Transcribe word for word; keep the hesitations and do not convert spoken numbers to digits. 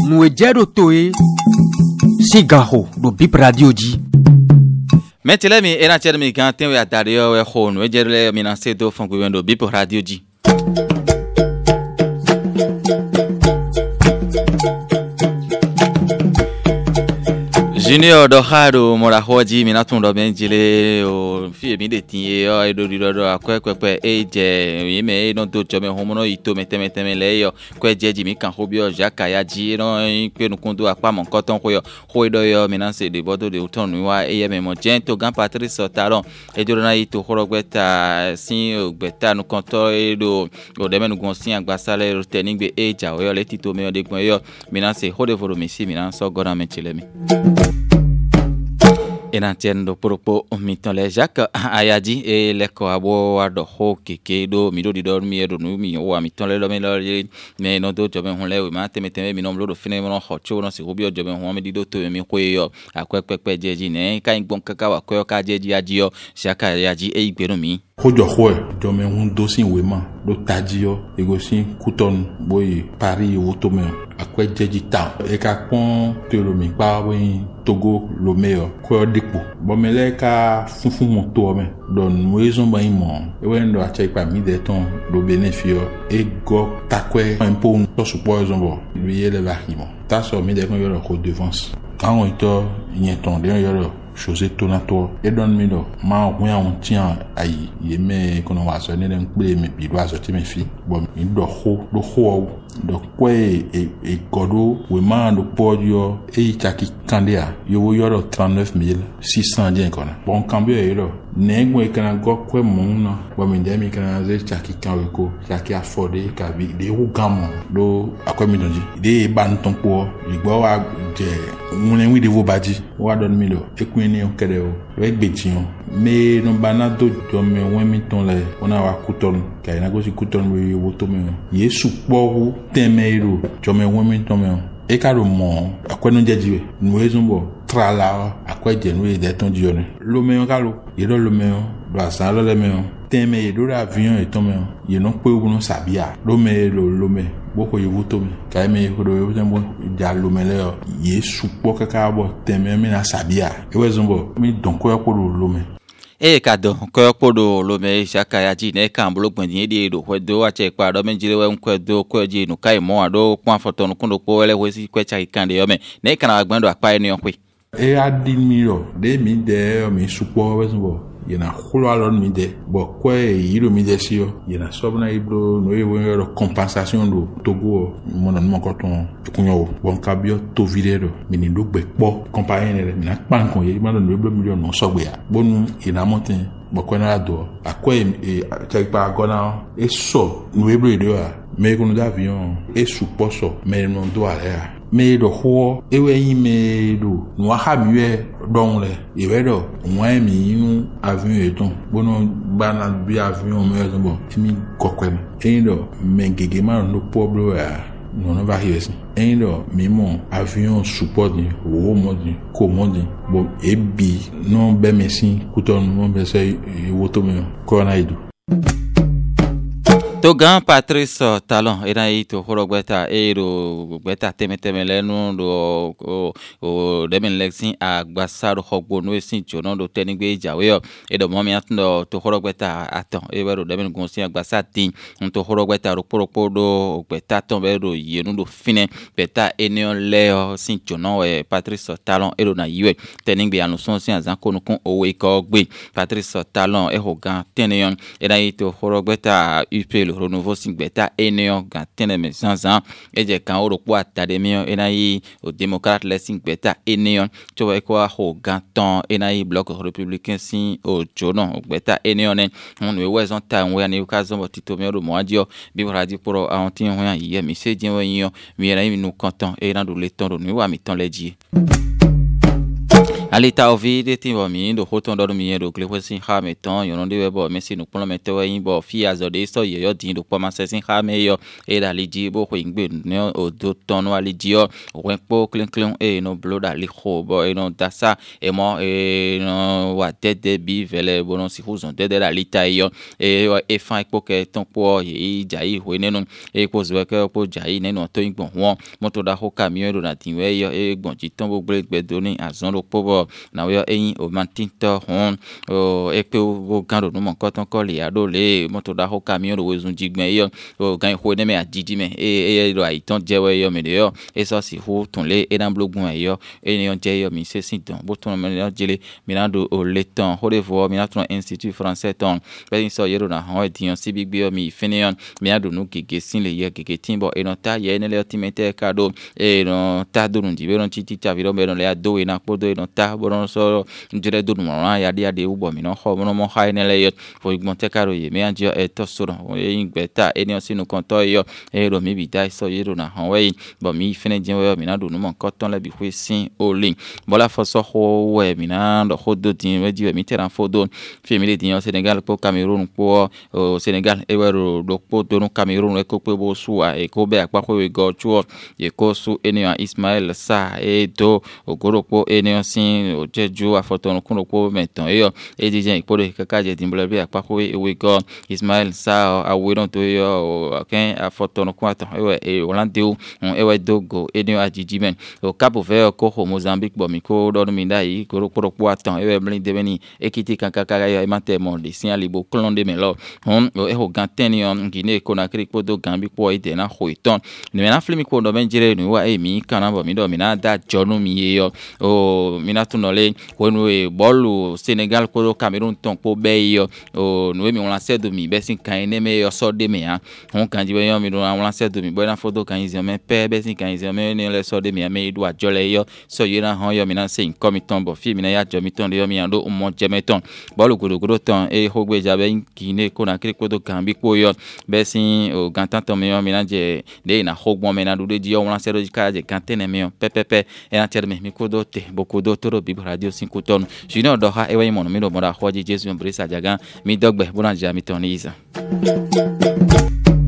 nous ejero toe sigaho do bip radio di metele mi era chere mi kan ten we atare yo we ho no ejere mi na se do fun gbe do bip radio di Junior do haro mora hoji mi na tun do benjile o fi mi de tin e o do do do akwekwepe e je mi me no do jo me homo no ito metemete le yo kwe jeji mi kan hobi o jaka ya ji no pe nu kundu apa mo nkan ton ko yo ho do yo mi na se de bodo de uton wa e ye me mo jento gan Patrice Talon e do na ito horogbeta sin ogbeta nu konto e do o de menu gon sin agbasale ro tenigbe e ja o yo le tito me o de gbon yo mi na se ho de voro mi si mi na so gora me chile mi ena tiendo propo miton le Jacques ayadi e le ko abo ado ho keke do mi do di do mi edo no mi o miton le lo me lo me no do jobe hun le we ma teme teme mi no lo do fine mo no ho cho no se obi o jobe hun mi di do to mi ko yo akwepepe jeji ne ka ngbon kaka wa ko ka jeji adio Jacques ayadi e igberu mi Kojo hoe, jome hun dosin wema, do tajio, egosin kuton boy Paris wotome, akwe jeji ta. Eka kon te lo mi pa wen Togo lo meyo, ko dikpo. Bomele ka funfun moto me, don moizon ba imon. Ewen do ache pa mi de ton do benefio e go takwe impo to support zombo. Lui le varimo. Ta so mi de kon yo ko devance. Kan on to nyeton de yo chose tonato e don mi do ma won awon tian ayi ye me kono wa so ne den pe me bi do aso ti me fi bo mi do ho do ho do kwe e e godo we ma do podio e chaki kandia yo wo yo trente-neuf mille six cents yen kono bon cambio e do negwe kana go kwe mon no bo mi de mi kana ze chaki kanwe ko chaki afforde ka bi de wo gamo do akwa mi donji de ban ton po igbo wa je mun en wi de wo baji wa don mi do e ni on kede o we gbejion me no bana do jo me won mi ton le ona wa kuton ka ina go si kuton we wo to me yesu poru temero jo me won mi ton me e ka ro mo akwenu jejiwe nu ezumbo trala akweje nu e de ton dione lo me ka lo ye do lo me do asa lo le me teme e do avion e ton me ye no pe wo no sabia lo me lo lo me boko yewu to me ka me ko do yewu tembo ja lo me le yesu po kaka bo teme me na sabia e wezumbo mi don ko ko lo me e ka do ko ko do lo me Jacques ya ji ne kan blo gbon din de do ho do ache pa do me jire we nko do ko ji nu kai mo ado pon foto nu kun do po wele we si ko cha kan de yo me ne kan agban do apa eni on pe e admiro de mi de mi supo wezumbo yena kholo alon mi de bo ko e yiro mi de sio yena sobna ibro no e won yo compensation do Togo mo non mo ko ton kunyo bon kabio to videro mi ni do gbe po compagnie re na pan kon ye ma no ibro million no sogbe ya bonu yena montin bo ko na do akwe e check pa gona e so no ibro de ya me ko no d'avion e supposo me no do ala me do ho ewe yi me do no ha miwe don le ewe do won mi nu avion eton bono bana bi avion me zo mi kokwem e do me gege ma no poblo ya no no va hiwesi e do mi mo avion support ni wo mo ni ko mo ni bo ebi no be mesin kuton mo be se woto me ko na idu to gan Patrice Talon era ito horogbeta ero gbeta temeteme lenu do o o demen lexin agbasaro hogbo no esin jono do tenigbe jawe yo edo momi atndo to horogbeta aton ebero demen gonsin agbasati to horogbeta ro poropo do gbeta ton bero yenu do fine beta enion leo sin jono e Patrice Talon ero na yiwe tenigbe anuson sin azan konukun owo iko gbe Patrice Talon e hogan teneyon era ito horogbeta up le renouveau singbeta eneo gantene me sansan eje kan oropo atademio enayi o démocrate le singbeta eneo to e ko ho ganton enayi bloc républicain sin o jono ogbeta eneo ne on we wezon ta we ani ka zo tito mi ro mo adio bi radio pro a on tin ho yan yi mi se jin we yin mi era mi nu kanton e ran do le ton do ni wa mi ton leji alita ovi de timbo mi do hoton do mi do kle sin ha meton yo no de webo me si no pon me te wa yin bo fi azode so ye yo din do po ma se sin ha me yo e da liji bo ko ingbe ne o do ton wa liji yo o po clean clean e no blood ali ho bo e no dasa e mo e no wa de de bi vele bo no si huzon de de la lita yo e e fa po ke ton po ye jai ho ne no e ko zo ke po jai ne no to igbon won moto da ho camion do na tin we yo e gbon ji ton bo gbe gbe do ni azon do po bo na we eyin o mantinto hon o e pe o gan do mo ko ton ko le ado le moto da ho camion do wezun jigben yo o gan ho ne me ajiji me e e do aiton jewe yo me de yo e so si ho ton le e dan blogun e yo e ni on je yo mi se sin don bo ton me yo jele mi na do o le ton ho de vo mi na ton institut français ton be so yero na ho e dion si bi gbe yo mi finion mi na do nu gege sin le ye gege timbo e no ta ye ne le timete kado e no ta do nu di be no titi ta vi do be no le ado e na podo e no ta bo no so njere do mo ran ya dia de ubo mi no ho mo no mo ha ne le yo fo igbon te karo ye mi anjo e to so ro e ngbeta e ni o sinu kon to yo e ro mi bi dai so yero na han we bo mi fene je we mi na do nu mo kon ton le bi hwe sin o lin bo la fo so ho we mi na do ho do tin we di mi te ran fo do fi mi le din Senegal po Cameroun po o Senegal e we ro do po do no Cameroun e ko pe bo su a e ko be apa ko we go chu e ko su eni Ismail Sa e do ogoropo eni sin o jeju afoton kun ko meton e yo e di je ipodo kaka je din be apa ko we go Ismail Sa a we don to yo ken afoton kun aton e we e Holande o e we dogo eni ajiji men o Cabo Verde ko ho Mozambique bo mi ko do mi dai goropo ko aton e we blin de beni ekiti kan kaka ya mate mo de sin alibo klon de melo hon o e ho ganten yo Guinée Conakry ko do Gambie ko ide na ho iton ni na flimi ko do benjire ni wa e mi kana bo mi do mi na da jonu mi yo o mi na tunole ko no e bolu Senegal ko do Cameroun ton ko be yo o no mi on la sedo mi be sin kan ne me yo so de me ha hon kan ji be yo mi do on la sedo mi bo na foto kan izi me pe be sin kan izi me ne le so de me me do ajole yo so yo na hon yo mi na se in komiton bo fi mi na ya jo mi ton de yo mi ando o mo jemeton bolu goro ton e hogbe jabe Guinée Conakry ko do Gambie ko yo be sin o gantan ton me yo mi na je de na hogbon me na do de yo on la sedo ka je kantene me yo pepepe e na terme mi ko do te boko do toro bi radio cinco ton jino do ha e we mo no mi do mo da hoji Jesu mbrisa jagan mi dogbe bona ja mi ton iza